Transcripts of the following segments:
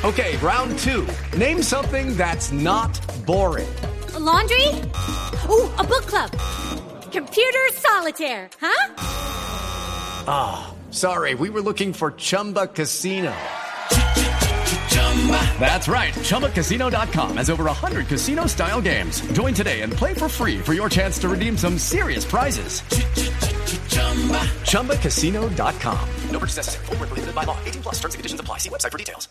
Okay, round two. Name something that's not boring. A laundry? Ooh, a book club. Computer solitaire, huh? Ah, sorry, we were looking for Chumba Casino. That's right, ChumbaCasino.com has over 100 casino-style games. Join today and play for free for your chance to redeem some serious prizes. ChumbaCasino.com. No purchase necessary. Void where prohibited by law. 18 plus terms and conditions apply. See website for details.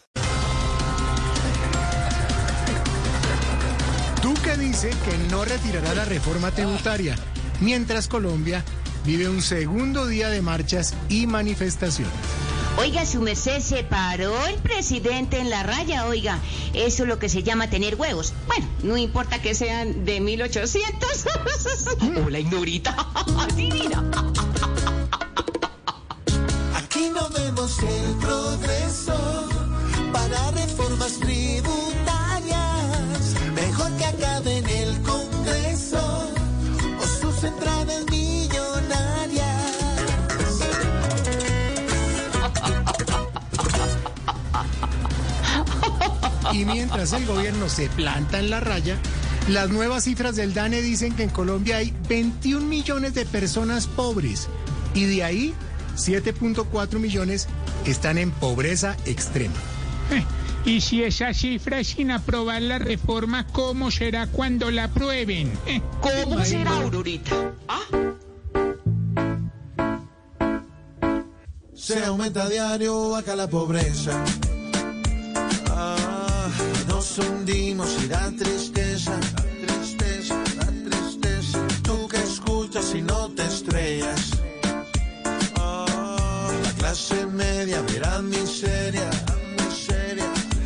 Duque dice que no retirará la reforma tributaria, mientras Colombia vive un segundo día de marchas y manifestaciones. Oiga, su merced, se paró el presidente en la raya, oiga. Eso es lo que se llama tener huevos. Bueno, no importa que sean de 1800. Hola, Ignorita. Divina. Aquí no vemos el progreso para reformas tributarias. Mejor que acabe en el Congreso o sus entradas millonarias. Y mientras el gobierno se planta en la raya, las nuevas cifras del DANE dicen que en Colombia hay 21 millones de personas pobres y de ahí 7.4 millones están en pobreza extrema. Y si esa cifra es sin aprobar la reforma, ¿cómo será cuando la aprueben? ¿Cómo será, Aurorita? Se aumenta a diario acá la pobreza. Nos hundimos y da tristeza, da tristeza. Tú que escuchas y no te estrellas. La clase media verá miseria, miseria.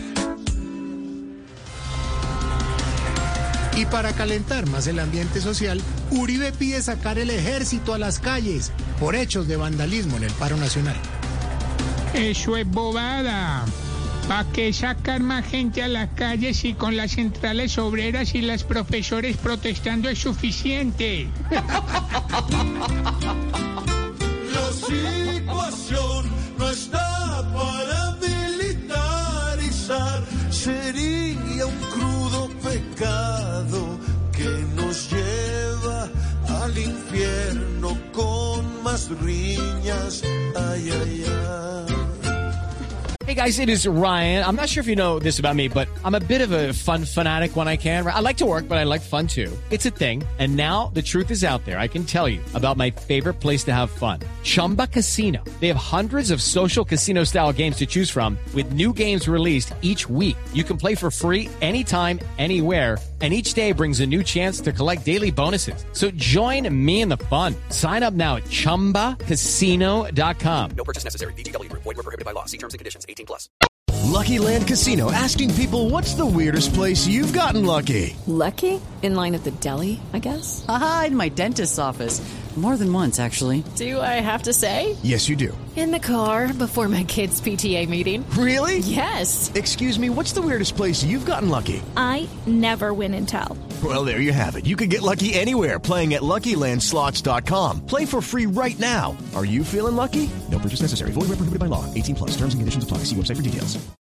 Y para calentar más el ambiente social, Uribe pide sacar el ejército a las calles por hechos de vandalismo en el paro nacional. Eso es bobada. ¿Para qué sacar más gente a las calles si con las centrales obreras y las profesores protestando es suficiente? La situación no está para militarizar. Sería un crudo pecado que nos lleva al infierno con más riñas. Ay, ay, ay. Hey guys, it is Ryan. I'm not sure if you know this about me, but I'm a bit of a fun fanatic when I can. I like to work, but I like fun too. It's a thing. And now the truth is out there. I can tell you about my favorite place to have fun. Chumba Casino. They have hundreds of social casino style games to choose from with new games released each week. You can play for free anytime, anywhere. And each day brings a new chance to collect daily bonuses. So join me in the fun. Sign up now at ChumbaCasino.com. No purchase necessary. VGW Group. Void where prohibited by law. See terms and conditions. 18 plus. Lucky Land Casino, asking people, what's the weirdest place you've gotten lucky? Lucky? In line at the deli, I guess? Aha, in my dentist's office. More than once, actually. Do I have to say? Yes, you do. In the car before my kids' PTA meeting. Really? Yes. Excuse me, what's the weirdest place you've gotten lucky? I never win and tell. Well, there you have it. You can get lucky anywhere, playing at LuckyLandSlots.com. Play for free right now. Are you feeling lucky? No purchase necessary. Void where prohibited by law. 18 plus. Terms and conditions apply. See website for details.